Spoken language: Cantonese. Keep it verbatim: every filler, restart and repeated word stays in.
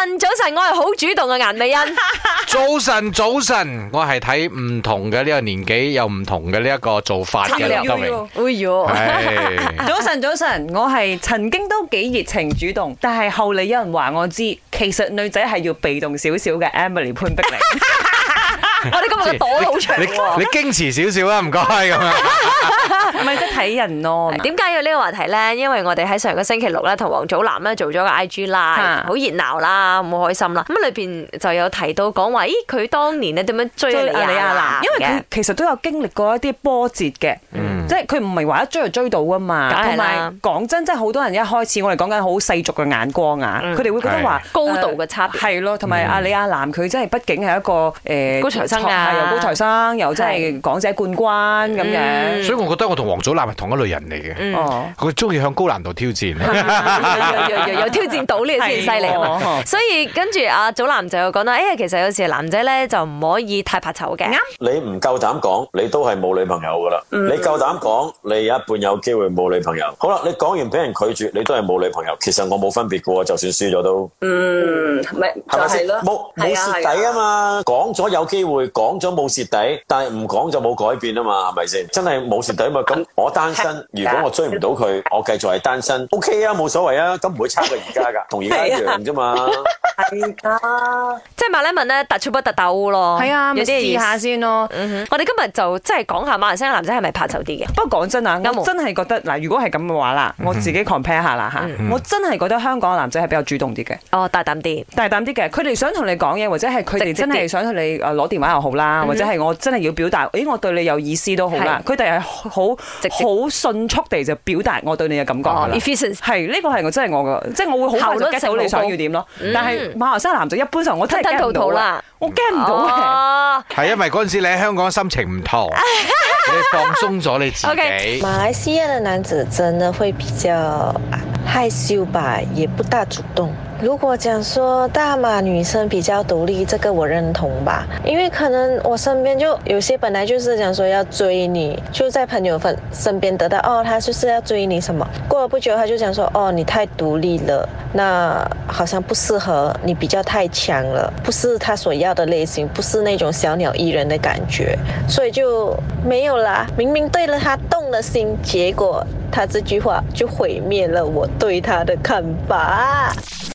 晨，早晨，我係好主動嘅顏美欣。 早晨，早晨，我係睇唔同嘅呢個年紀有唔同嘅呢一個做法嘅劉德榮。 哎喲， 係早晨，早晨，我係曾經都幾熱情主動，但係後嚟有人話我知，其實女仔係要被動少少嘅 Emily 潘碧玲。 我哋今日嘅朵好長你喎。 你矜持少少啦，唔該咁樣。 唔係即係睇人咯。 點解有呢個話題咧？因為我哋喺上個星期六咧，同黃祖藍咧做咗個 I G Live，好熱鬧啦，好開心啦。咁裏邊就有提到講話，咦，佢當年咧點樣追李亞男？ 因為佢其實都有經歷過一啲波折嘅，即係佢唔係話一追就追到噶嘛。同埋講真，即係好多人一開始我哋講緊好世俗嘅眼光啊，佢哋會覺得話高度嘅差別係咯，同埋阿李亞男佢真係畢竟係一個誒高材生啊， 又高材生，又真係港姐冠軍咁樣。 所以我覺得我同黃祖藍係同一類人嚟嘅。哦，佢中意向高難度挑戰， 有有挑戰到呢個先犀利啊嘛。所以跟住阿祖藍就講啦，誒，其實有時男仔咧就唔可以太怕醜嘅。 你唔夠膽講，你都係冇女朋友噶啦。你夠膽講，你有一半有機會冇女朋友。好啦，你講完俾人拒絕，你都係冇女朋友。其實我冇分別噶喎，就算輸咗都。嗯，咪係咪先？冇冇蝕底啊嘛，講咗有機會，講咗冇蝕底，但係唔講就冇改變啊嘛，係咪先？真係冇蝕底嘛？咁我單身，如果我追唔到佢，我繼續係單身 ，OK 啊，冇所謂啊，咁唔會差過而家噶，同而家一樣啫嘛。係噶， 即係馬來文咧，突出不突鬥咯。 係啊， 有啲試下先咯。 我哋今日就即係講下馬來西亞男仔係咪怕醜啲嘅？ 不過講真啊，我真係覺得嗱，如果係咁嘅話啦，我自己 compare 下啦嚇，我真係覺得香港嘅男仔係比較主動啲嘅。 哦，大膽啲， 大膽啲嘅，佢哋想同你講嘢，或者係佢哋真係想同你誒攞電話又好啦，或者係我真係要表達，誒我對你有意思都好啦。佢哋係好好迅速地就表達我對你嘅感覺㗎啦。係呢個係我真係我嘅，即係我會好快就 get 到你想要點咯。但係馬來西亞男仔一般上我真係 get 唔到啦，我 get 唔到嘅。 係因為嗰陣時你喺香港心情唔同，你放鬆咗你自己。 馬來西亞嘅男子真的會比較害羞吧，也不大主動。如果講說大馬女生比較獨立，這個我認同吧，因為可能我身邊就有些本來就是講說要追你，就在朋友份身邊得到哦，他就是要追你什麼，過了不久他就講說哦，你太獨立了，那好像不適合你，比較太強了，不是他所要的類型，不是那種小鳥依人的感覺，所以就沒有啦。明明對了他動了心，結果他這句話就毀滅了我對他的看法。